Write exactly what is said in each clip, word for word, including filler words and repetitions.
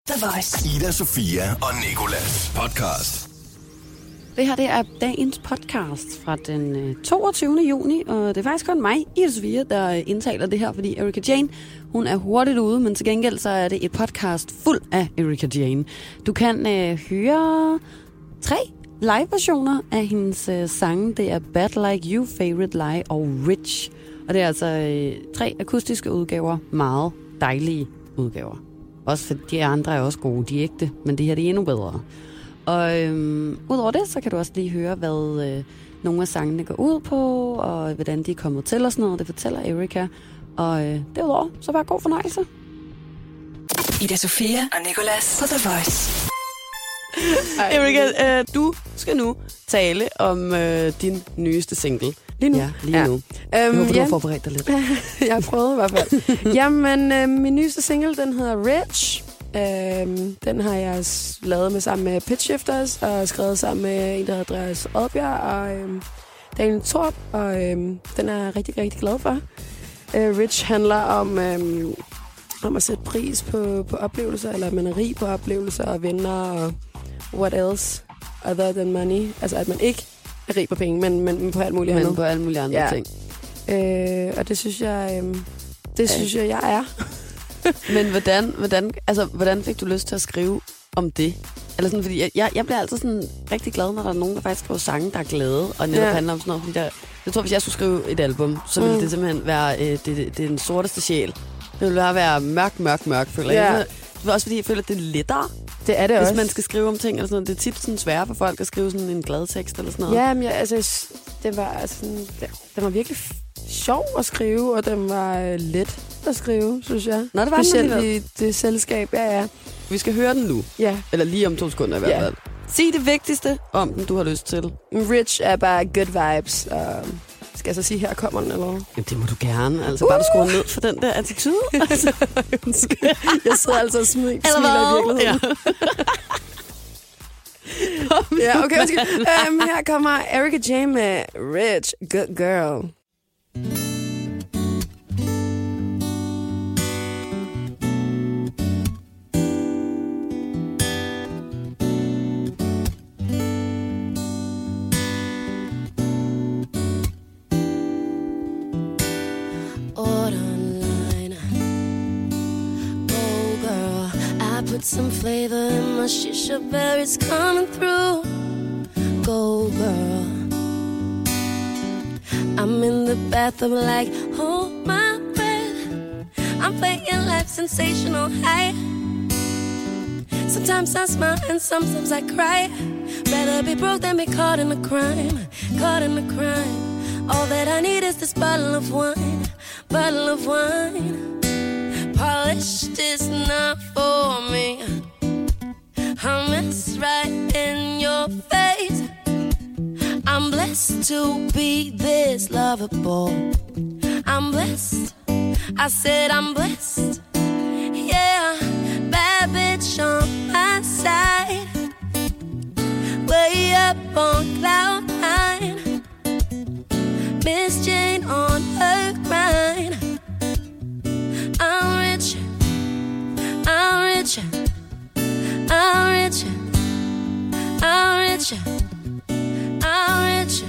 The Voice. Ida, Sofia og Nicolas podcast. Det her det er dagens podcast fra den toogtyvende juni, og det er faktisk kun mig, Ida Sofia, der indtaler det her, fordi Erika Jane, hun er hurtigt ude, men til gengæld så er det et podcast fuld af Erika Jane. Du kan øh, høre tre live-versioner af hendes øh, sange. Det er Bad Like You, Favorite Lie og Rich. Og det er altså øh, tre akustiske udgaver, meget dejlige udgaver. Også for de andre er også gode, de er ægte, men det her det er endnu bedre. Og øhm, udover det, så kan du også lige høre, hvad øh, nogle af sangene går ud på, og hvordan de er kommet til og sådan noget. Det fortæller Erika. Og øh, derudover, så bare god fornøjelse. Ida Sofia og Nicolas på The Voice. Erika, øh, du skal nu tale om øh, din nyeste single. Lige nu? Ja, lige ja. nu. Jeg Øhm, håber, du ja. har forberedt dig lidt. Jeg har prøvet i hvert fald. Jamen, øh, min nyeste single, den hedder Rich. Øhm, den har jeg lavet med sammen med Pitch Shifters, og skrevet sammen med en, der hedder Andreas Oddbjerg, og øhm, Daniel Torp, og øhm, den er jeg rigtig, rigtig glad for. Øh, Rich handler om, øhm, om at sætte pris på, på oplevelser, eller at man er rig på oplevelser og venner, og what else other than money. Altså, at man ikke er rig på penge, men, men, men på alt muligt andet. Men på alle mulige andre Ja. ting. Øh, og det synes jeg, øhm, det Ja. synes jeg, jeg er. Men hvordan, hvordan, altså, hvordan fik du lyst til at skrive om det? Eller sådan, fordi jeg, jeg, jeg bliver altid sådan rigtig glad, når der er nogen, der faktisk skriver sange, der er glade, og netop Ja. handler om sådan noget. Fordi der, jeg tror, hvis jeg skulle skrive et album, så ville Mm. det simpelthen være øh, det, det, det er den sorteste sjæl. Det ville bare være mørk, mørk, mørk, føler Ja. jeg. Det er også fordi, jeg føler, at det er lettere, Det er det hvis også. man skal skrive om ting. Eller sådan noget. Det er tit sådan sværere for folk at skrive sådan en glad tekst eller sådan noget. Ja, men jeg, altså, jeg s- det var, altså, sådan- det, den var virkelig f- sjov at skrive, og den var øh, let at skrive, synes jeg. Nå, det var den Specielt alligevel. i det selskab, ja, ja. Vi skal høre den nu. Ja. Eller lige om to sekunder i hvert Ja. fald. Sig det vigtigste om den, du har lyst til. Rich er bare good vibes. Og skal jeg så sige, her kommer den, eller hvad? Jamen, det må du gerne. Altså, uh! bare du skruer ned for den der attitude. Altså. Jeg sidder altså og smiler, Eller smiler i hvad? virkeligheden. Ja, okay, undskyld. Um, her kommer Erika Jane med Rich, Good Girl. Order online. Oh girl, I put some flavor in my shisha berries coming through. Go girl, I'm in the bathroom like, hold my breath. I'm playing life sensational high. Sometimes I smile and sometimes I cry. Better be broke than be caught in a crime. Caught in a crime. All that I need is this bottle of wine. Bottle of wine. Polished is not for me. I miss right in your face. I'm blessed to be this lovable. I'm blessed. I said I'm blessed. Yeah, bad bitch on my side. Way up on cloud nine. Miss Jane on her grind. I'm rich. I'm rich. I'm rich. I'm rich. I'm rich.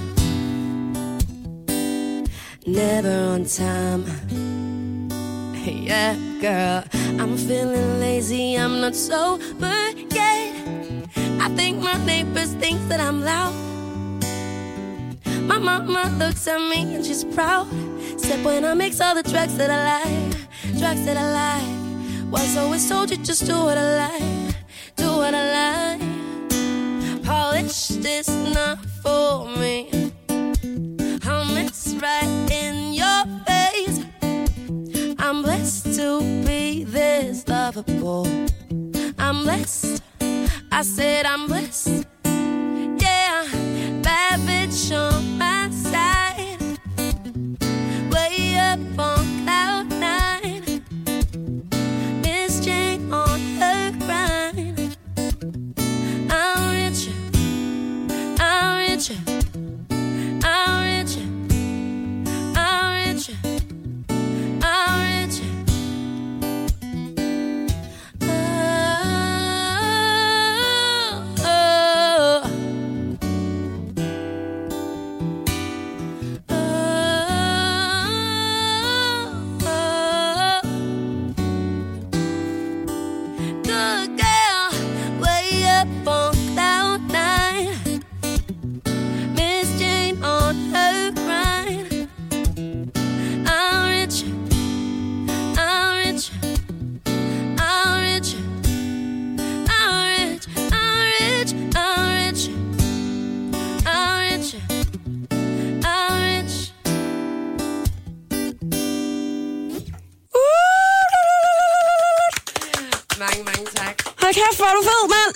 Never on time. Yeah, girl. I'm feeling lazy. I'm not sober yet. I think my neighbors think that I'm loud. My mama looks at me and she's proud. Said when I mix all the drugs that I like, drugs that I like. Was always told you just do what I like, do what I like. Polished is not for me. I'll miss right in your face. I'm blessed to be this lovable. I'm blessed. I said I'm blessed. Yeah, bad bitch on my side. Way up on cloud nine. Miss Jane on her grind. I'm rich. I'm rich. I'm rich. I'm rich. I'm rich. Ah. good girl, way up on cloud nine. Miss Jane on her grind. I'm rich, I'm rich, I'm rich, I'm rich, I'm rich, I'm rich, I'm rich, I'm rich. Mange, mange tak. Hold kæft, hvor er du fed, mand!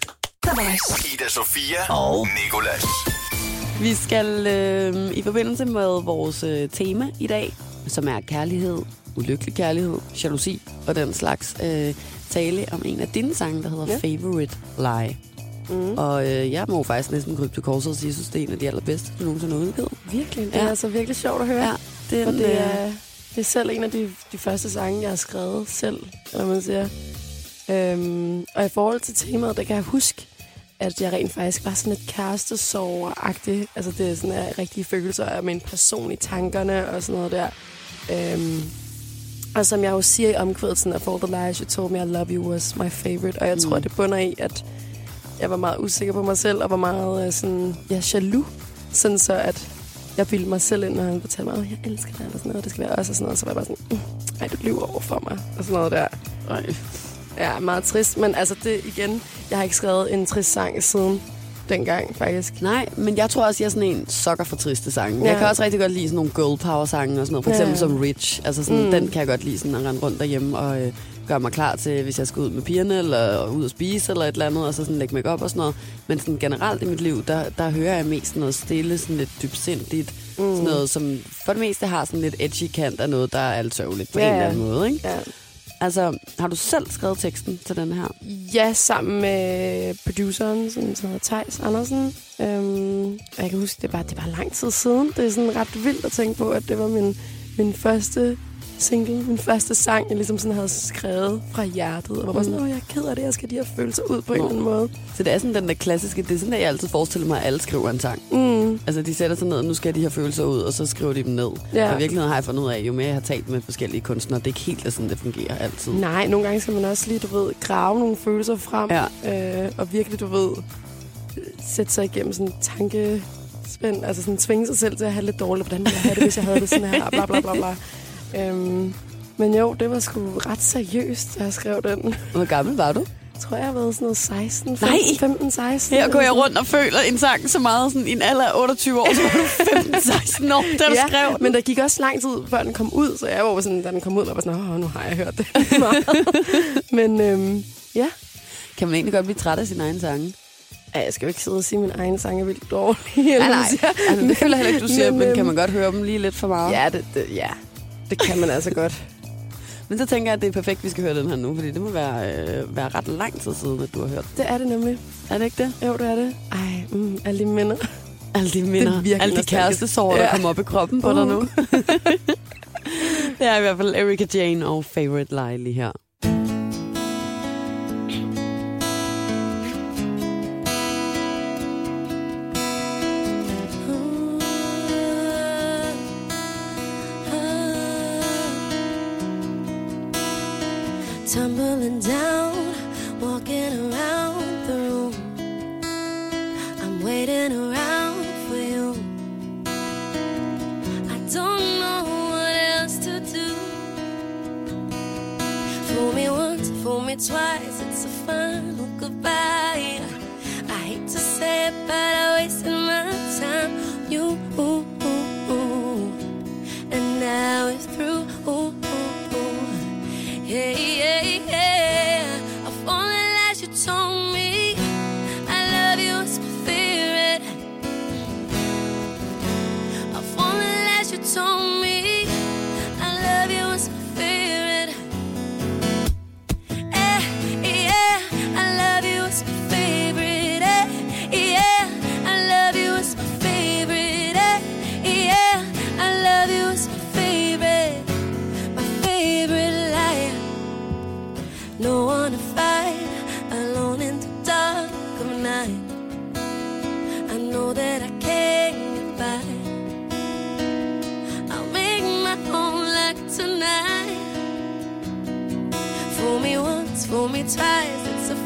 Ida Sofia og Nicolas. Vi skal øh, i forbindelse med vores øh, tema i dag, som er kærlighed, ulykkelig kærlighed, jalousi og den slags, øh, tale om en af dine sange, der hedder ja. Favorite Lie. Mm. Og øh, jeg må faktisk næsten krybe til korset og sige, at jeg synes, det er en af de allerbedste, du nogensinde har udgivet. Virkelig, det ja. er altså virkelig sjovt at høre. Ja, den, og det er, det er selv en af de, de første sange, jeg har skrevet selv, når man siger. Øhm, og i forhold til temaet, der kan jeg huske, at jeg rent faktisk var sådan et kærestesorger-agtigt. Altså det er sådan en rigtige følelser af min person i tankerne og sådan noget der. Øhm, og som jeg jo siger i omkvædet, sådan at For the lies you told me I love you was my favorite. Og jeg tror, mm. det bunder i, at jeg var meget usikker på mig selv, og var meget øh, sådan, ja, jaloux. Sådan så, at jeg bildte mig selv ind, når han fortalte mig, at jeg elsker dig, eller sådan noget, det skal være også, og sådan noget. Så var jeg bare sådan, mm, ej, du lyver over for mig, og sådan noget der. Ej. Ja, meget trist, men altså det igen, jeg har ikke skrevet en trist sang siden dengang, faktisk. Nej, men jeg tror også, jeg er sådan en sokker for triste sange. Ja. Jeg kan også rigtig godt lide sådan nogle girl power sange og sådan noget. For eksempel ja. som Rich. Altså sådan, mm. den kan jeg godt lide sådan at rende rundt derhjemme og øh, gøre mig klar til, hvis jeg skal ud med pigerne eller ud og spise eller et eller andet, og så sådan lægge make op og sådan noget. Men sådan generelt i mit liv, der, der hører jeg mest noget stille, sådan lidt dybsindigt. Mm. Sådan noget, som for det meste har sådan lidt edgy kant af noget, der er alt sørgeligt på ja. en eller anden måde, ikke? Ja. Altså, har du selv skrevet teksten til den her? Ja, sammen med produceren, som hedder Theis Andersen. Øhm, og jeg kan huske, det var, det var lang tid siden. Det er sådan ret vildt at tænke på, at det var min, min første single, min første sang, jeg ligesom sådan havde skrevet fra hjertet. Og var bare sådan, åh, jeg er ked af det, jeg skal de her følelser ud på Nå. en eller anden måde. Så det er sådan den der klassiske, det er sådan, at jeg altid forestiller mig, at alle skriver en sang. Mm. Altså, de sætter sig ned, og nu skal de her følelser ud, og så skriver de dem ned. Ja. Og i virkeligheden har jeg fundet ud af, jo mere jeg har talt med forskellige kunstnere, det er ikke helt sådan, det fungerer altid. Nej, nogle gange skal man også lige, du ved, grave nogle følelser frem. Ja. Øh, og virkelig, du ved, sætte sig igennem sådan en tankespænd, altså sådan tvinge sig selv til at have lidt dårligt. Hvordan ville jeg have det, hvis jeg havde det sådan her, bla bla bla bla. Øhm, men jo, det var sgu ret seriøst, da jeg skrev den. Hvor gammel var du? Jeg tror, jeg har været sådan noget seksten, Nej. femten, seksten. Her går jeg rundt og føler en sang så meget, sådan i en alder af otteogtyve år, så var du femten seksten år, da du ja, skrev den. Men der gik også lang tid, før den kom ud, så jeg var sådan, da den kom ud, og var sådan, åh, nu har jeg hørt det Men øhm, ja. Kan man egentlig godt blive træt af sin egen sange? Ja, jeg skal jo ikke sidde og sige, at min egen sang er vildt dårlig. Nej, nej. Altså, det føler heller ikke, du siger, men, men kan man godt høre dem lige lidt for meget? Ja, det, det, ja. det kan man altså godt. Men så tænker jeg, at det er perfekt, at vi skal høre den her nu, fordi det må være, øh, være ret lang tid siden, at du har hørt den. Det er det nemlig. Er det ikke det? Jo, det er det. Ej, mm, alle de minder. Alle de minder. Alle de kærestesorger, der ja. kommer op i kroppen på uh. dig nu. Det er i hvert fald Erika Jane og Favorite Lie lige her. Tumbling down, walking around the room. I'm waiting around for you. I don't know what else to do. Fool me once, fool me twice, it's a final goodbye. I hate to say it, but I wasted my time. You, ooh, ooh, ooh. And now it's through. Ooh, ooh, ooh. Yeah, yeah, yeah. Of all the lies you told me, I love you, it's my favorite. Of all the lies you told me, I love you, it's my favorite. Eh, yeah, I love you, it's my favorite. Eh, yeah, I love you, it's my favorite. Eh, yeah, I love you, it's my favorite. My favorite liar. No one to fight, alone in the dark of night. I know that I can't get by. I'll make my own luck tonight. Fool me once, fool me twice, it's a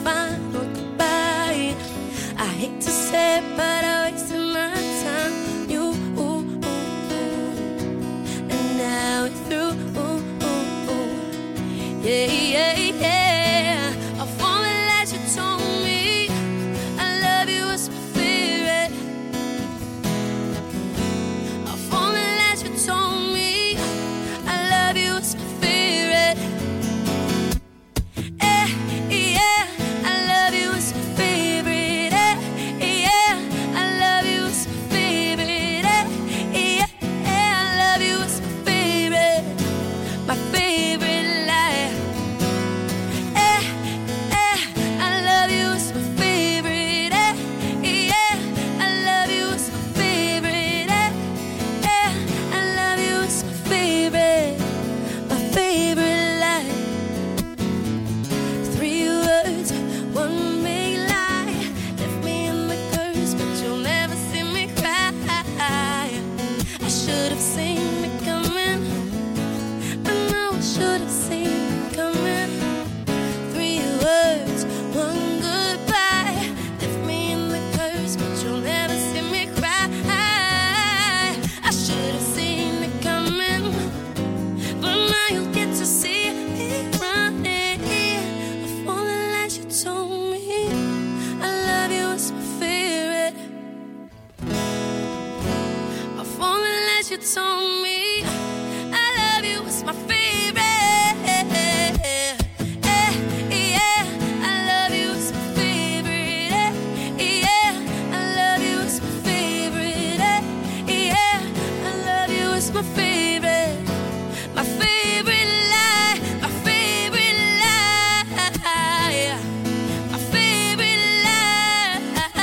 lights on me. I love you, it's my favorite. Yeah, yeah, I love you, it's my favorite. Yeah, I love you, it's my favorite. Yeah, I love you, it's my favorite. My favorite lie, my favorite lie. My favorite lie.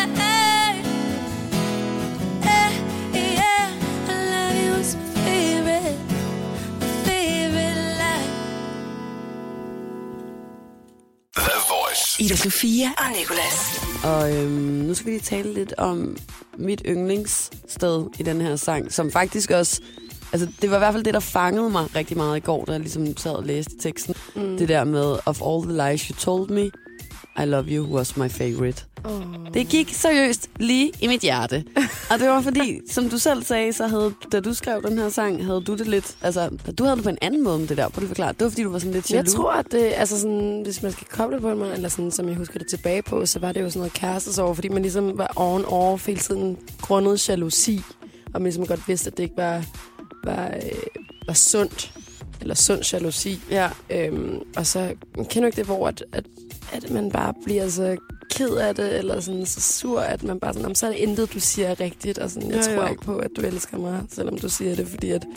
Yeah, yeah, I love you, it's my favorite. My favorite lie. The Voice. Ida Sofia og Nicolas. Og øhm, nu skal vi lige tale lidt om mit yndlingssted i den her sang, som faktisk også... Altså, det var i hvert fald det, der fangede mig rigtig meget i går, da jeg ligesom sad og læste teksten. Mm. Det der med, of all the lies you told me, I love you was my favorite. Oh. Det gik seriøst lige i mit hjerte. Og det var fordi, som du selv sagde, så havde, da du skrev den her sang, havde du det lidt... Altså, du havde det på en anden måde med det der, på det forklare. Det var fordi, du var sådan lidt jaloux. Jeg tror, at det, altså sådan, hvis man skal koble på mig, eller sådan, som jeg husker det tilbage på, så var det jo sådan noget kærestesorg, fordi man ligesom var on-off hele tiden grundet jalousi, og man ligesom godt vidste, at det ikke var... Var, øh, var sundt, eller sund jalousi. Ja. Øhm, og så man kender ikke det, hvor at, at, at man bare bliver så ked af det, eller sådan så sur, at man bare sådan, så er det intet, du siger rigtigt, og sådan, jeg jo, tror jo. ikke på, at du elsker mig, selvom du siger det, fordi at,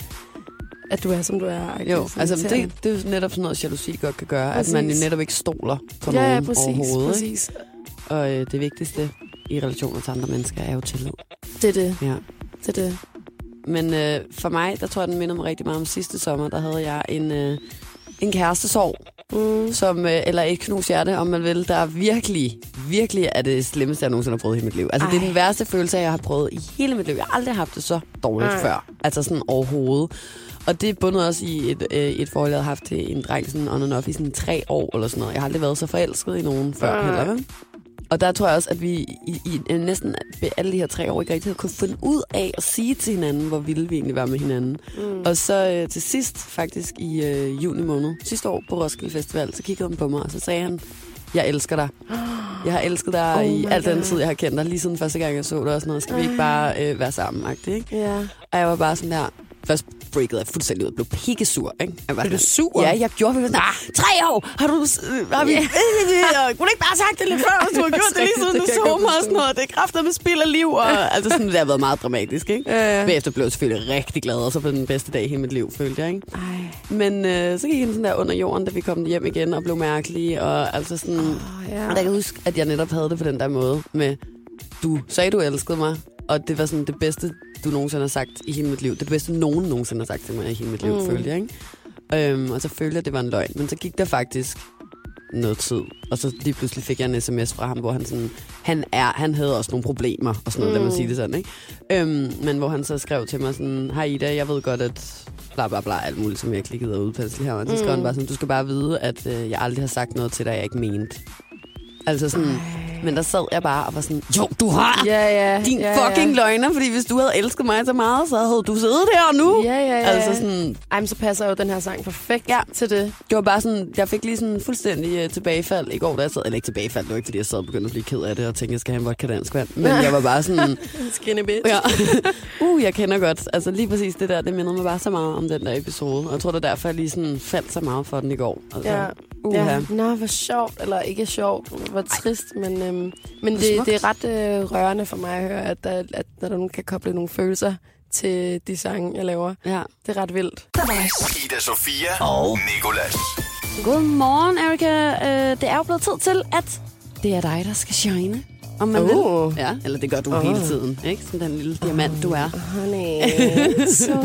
at du er, som du er. Jo, altså det, det er jo netop sådan noget, jalousi godt kan gøre, præcis. At man jo netop ikke stoler på ja, nogen ja, præcis, overhovedet. Præcis. Og øh, det vigtigste i relationer til andre mennesker er jo tillid. Det er det. Ja. Det er det. Men øh, for mig, der tror jeg, den minder mig rigtig meget om sidste sommer. Der havde jeg en, øh, en kærestesorg, mm. som, øh, eller et knust hjerte, om man vil, der virkelig, virkelig er det slemmeste, jeg nogensinde har prøvet i mit liv. Altså, Ej. det er den værste følelse, jeg har prøvet i hele mit liv. Jeg har aldrig haft det så dårligt Ej. før. Altså sådan overhovedet. Og det er bundet også i et, øh, et forhold, jeg havde haft til en dreng sådan on and off i sådan tre år eller sådan noget. Jeg har aldrig været så forelsket i nogen før Ej. heller, vel? Og der tror jeg også, at vi i, i næsten ved alle de her tre år ikke rigtig havde kunnet finde ud af at sige til hinanden, hvor vilde vi egentlig var med hinanden. Mm. Og så øh, til sidst, faktisk i øh, juni måned, sidste år på Roskilde Festival, så kiggede han på mig, og så sagde han, jeg elsker dig. Jeg har elsket dig oh i al den tid, jeg har kendt dig, lige siden første gang, jeg så dig og sådan noget. Skal vi ikke bare øh, være sammen, ikke? Yeah. Og jeg var bare sådan der... Først breakede jeg fuldstændig ud og blev pikkesur, ikke? Jeg var blev du sur? Ja, jeg gjorde det. Ah, tre år! Har du... Har vi... Yeah. Kunne du ikke bare sagt det lidt før, hvis du har gjort det lige siden du så mig og sådan noget? Det er kræfter med spild af liv. Og, altså sådan, det har været meget dramatisk, ikke? Ja, ja. Bagefter blev jeg selvfølgelig rigtig glad, og så på den bedste dag i hele mit liv, følte jeg, ikke? Ej. Men øh, så gik jeg sådan der under jorden, da vi kom hjem igen og blev mærkelige. Og altså sådan... Oh, yeah. Og der kan jeg huske, at jeg netop havde det på den der måde med... Du sagde, du elskede mig, og det var sådan det bedste, du nogensinde har sagt i hele mit liv. Det bedste, nogen nogensinde har sagt til mig i hele mit liv, mm. følte jeg, ikke? Øhm, og så følte jeg, at det var en løgn. Men så gik der faktisk noget tid. Og så lige pludselig fik jeg en sms fra ham, hvor han sådan... Han, er, han havde også nogle problemer, og sådan noget, mm. lad mig sige det sådan, ikke? Øhm, men hvor han så skrev til mig sådan... Hej Ida, jeg ved godt, at... Bla, bla, bla, alt muligt, som jeg klikkede og udpensel her. Og så skrev mm. han bare sådan... Du skal bare vide, at øh, jeg aldrig har sagt noget til dig, jeg ikke mente. Altså sådan... Ej. Men der sad jeg bare og var sådan, jo, du har ja, ja, din ja, fucking ja. løgner, fordi hvis du havde elsket mig så meget, så havde du siddet her nu. Ja, ja, ja. Altså sådan... Ej, men så passer jo den her sang perfekt ja. til det. Det var bare sådan, jeg fik lige sådan fuldstændig uh, tilbagefald i går, da jeg sad, eller ikke tilbagefald, det var ikke, fordi jeg sad og begyndte at blive ked af det, og tænkte, jeg skal have en vodka dansk vand. Men jeg var bare sådan... Skinny bitch. Ja. uh, jeg kender godt. Altså lige præcis det der, det mindede mig bare så meget om den der episode. Og jeg tror, det er derfor, jeg lige sådan faldt så meget for den i går. Altså, ja. Uh, ja. Nå, hvor sjovt, eller ikke sjovt, hvor trist, men, øhm, men det, det er ret øh, rørende for mig at høre, at, der, at der nogen kan koble nogle følelser til de sange, jeg laver. Ja. Det er ret vildt. Ida Sofia og Nicolas. Godmorgen, Erika. Uh, det er jo blevet tid til, at det er dig, der skal shine. Om man oh. vil. Ja, eller det gør du oh. hele tiden, ikke? Som den lille diamant, oh, du er. Honey, so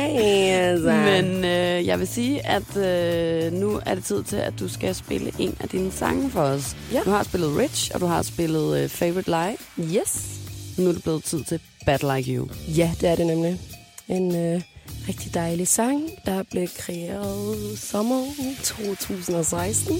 nice. Men øh, jeg vil sige, at øh, nu er det tid til, at du skal spille en af dine sange for os. Ja. Du har spillet Rich, og du har spillet øh, Favorite Lie. Yes. Nu er det blevet tid til Bad Like You. Ja, det er det nemlig. En øh, rigtig dejlig sang, der blev kreeret sommer to tusind og seksten.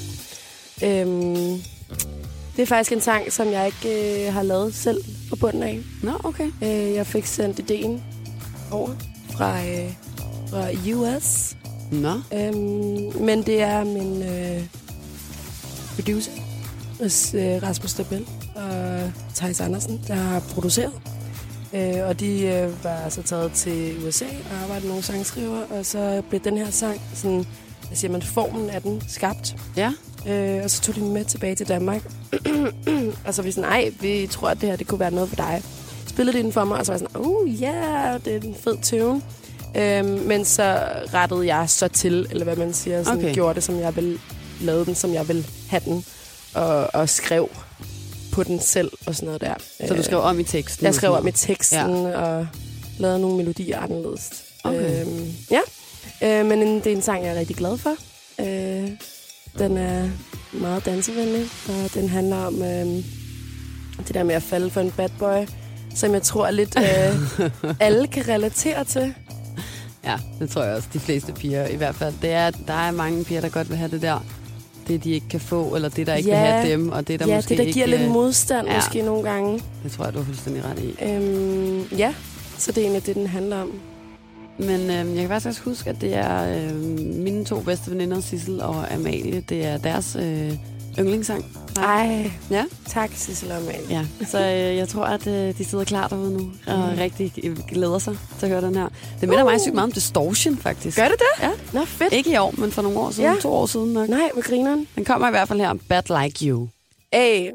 Øhm... Det er faktisk en sang, som jeg ikke øh, har lavet selv på bunden af. Nå, okay. Øh, jeg fik sendt ideen over fra, øh, fra U S. Nå. Øhm, men det er min øh, producer, øh, Rasmus Stabel og Thijs Andersen, der har produceret. Øh, og de øh, var så taget til U S A og arbejdede nogle sangskriver, og så blev den her sang, sådan, hvad siger man, formen af den skabt. Ja. Øh, og så tog de den med tilbage til Danmark. Og så var vi sådan, nej, vi tror, at det her det kunne være noget for dig. Spillede de den for mig, og så var jeg sådan, uh, ja, yeah, det er en fed tune. Øh, men så rettede jeg så til, eller hvad man siger, sådan, okay. gjorde det, som jeg ville, lavede den, som jeg ville have den, og, og skrev på den selv og sådan noget der. Så du skrev om i teksten? Jeg skrev om i teksten, ja. Og lavede nogle melodier anderledes. Okay. Øhm, ja, øh, men en, det er en sang, jeg er rigtig glad for. Øh, den er meget dansevenlig, og den handler om øh, det der med at falde for en bad boy, som jeg tror lidt øh, alle kan relatere til. Ja, det tror jeg også, de fleste piger i hvert fald. Det er, der er mange piger, der godt vil have det der. Det, de ikke kan få, eller det, der ikke ja, vil have dem, og det, der ja, måske det, der giver ikke, lidt modstand ja, måske nogle gange. Det tror jeg, du har fuldstændig ret i. Øhm, ja, så det er egentlig det, den handler om. Men øh, jeg kan faktisk også huske, at det er øh, mine to bedste veninder, Sissel og Amalie. Det er deres øh, yndlingssang. Ej, ja. Tak, Sissel og Amalie. Ja, så øh, jeg tror, at øh, de sidder klar derude nu, og mm. rigtig glæder sig til at høre den her. Det minder uh. mig sygt meget om Distortion, faktisk. Gør det det? Ja. Nå, fedt. Ikke i år, men for nogle år siden, ja. to år siden nok. Nej, med grineren. Den kommer i hvert fald her, Bad Like You. Hey.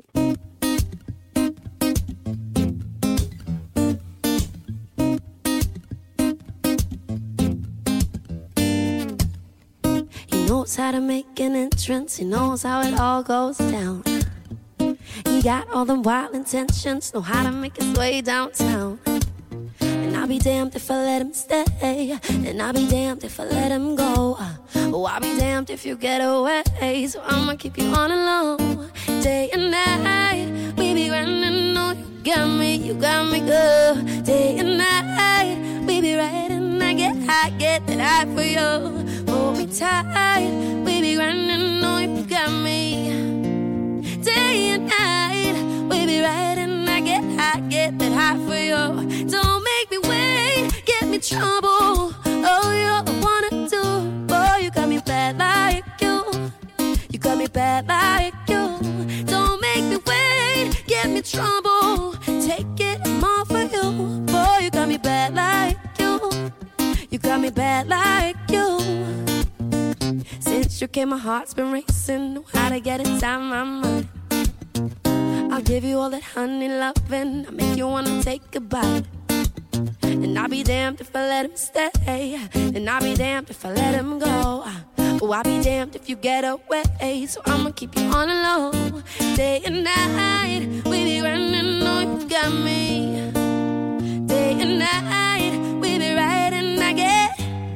Knows how to make an entrance, he knows how it all goes down. He got all the wild intentions, know how to make his way downtown. And I'll be damned if I let him stay, and I'll be damned if I let him go. Oh, I'll be damned if you get away, so I'ma keep you on alone. Day and night, we be running, no, you got me, you got me good. Day and night, we be riding, I get high, get that high for you. Hold me tight, we be running, no, you got me. Day and night, we be riding, I get high, get that high for you. Don't make me wait, get me trouble. Oh, you're the one to do. Boy, you got me bad like you. You got me bad like you. Don't make me wait, get me trouble. Take it, I'm all for you. Boy, you got me bad like you. You got me bad like you. Since you came, my heart's been racing. Know how to get inside my mind. I'll give you all that honey loving. I'll make you wanna take a bite. And I'll be damned if I let him stay, and I'll be damned if I let him go. Oh, I'll be damned if you get away, so I'ma keep you on the low. Day and night, we be running, no, you got me. Day and night, we be riding, I get.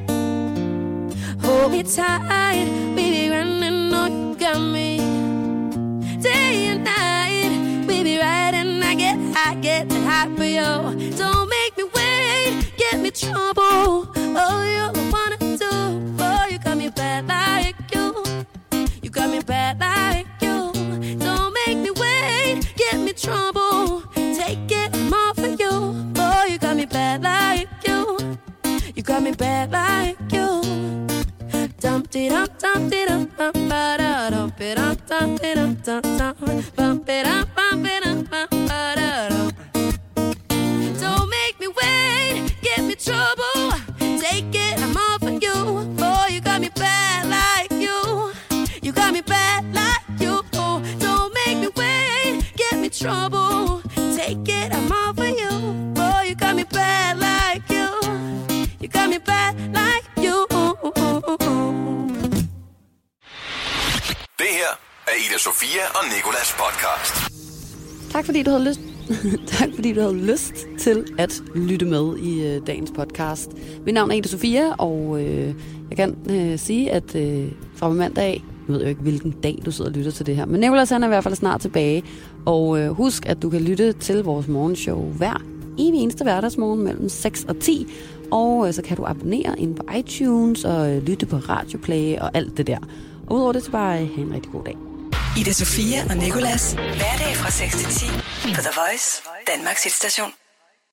Hold me tight, we be running, no, you got me. Day and night, we be riding, I get high, get that high for you. Don't make me wait, get me trouble. Oh, you're the one to do. Oh, you got me bad like you. You got me bad like you. Don't make me wait, get me trouble. Take it, I'm all for you. Oh, you got me bad like you. You got me bad like you. Dump it up, dump it up, bump it up, dump it up, dump it up, dump bump it up, bump it up, bump it up. Don't make me wait, get me trouble. Take it, I'm all for you. Boy, you got me bad like you. You got me bad like you. Don't make me wait, get me trouble. Take it, I'm all for you. Boy, you got me bad like you. You got me bad like you. Det her er Ida Sofia og Nicolas podcast. Tak fordi du havde lyst. tak fordi du havde lyst til at lytte med i øh, dagens podcast. Mit navn er Ida Sofia, og øh, jeg kan øh, sige, at øh, fra mandag af, jeg ved jo ikke, hvilken dag du sidder og lytter til det her, men Nicolas han er i hvert fald snart tilbage. Og øh, husk, at du kan lytte til vores morgenshow hver evig eneste hverdagsmorgen mellem seks og ti. Og øh, så kan du abonnere ind på iTunes og øh, lytte på Radioplay og alt det der. Og udover det, så bare øh, have en rigtig god dag. Ida Sofia og Nicolas. Hverdag fra seks til ti på The Voice, Danmarks hitstation.